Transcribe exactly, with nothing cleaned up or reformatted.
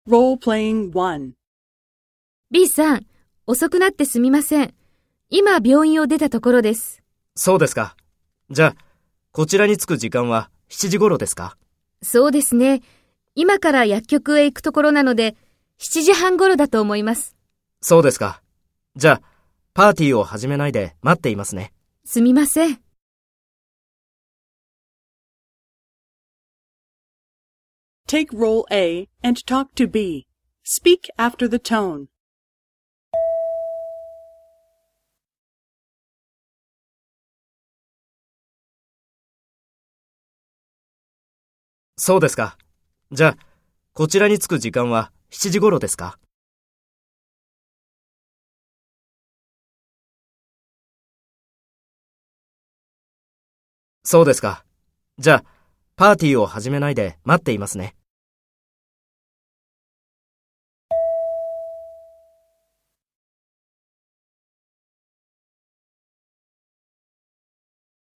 Role-playing one. B さん、遅くなってすみません。今病院を出たところです。 そうですか。じゃあ、こちらに着く時間はしちじ頃ですか？ そうですね。今から薬局へ行くところなので、しちじはん頃だと思います。 そうですか。じゃあ、パーティーを始めないで待っていますね。 すみません。 Take role A and talk to B. Speak after the tone. そうですか。じゃあ、こちらに着く時間はしちじ頃ですか？そうですか。じゃあ、パーティーを始めないで待っていますね。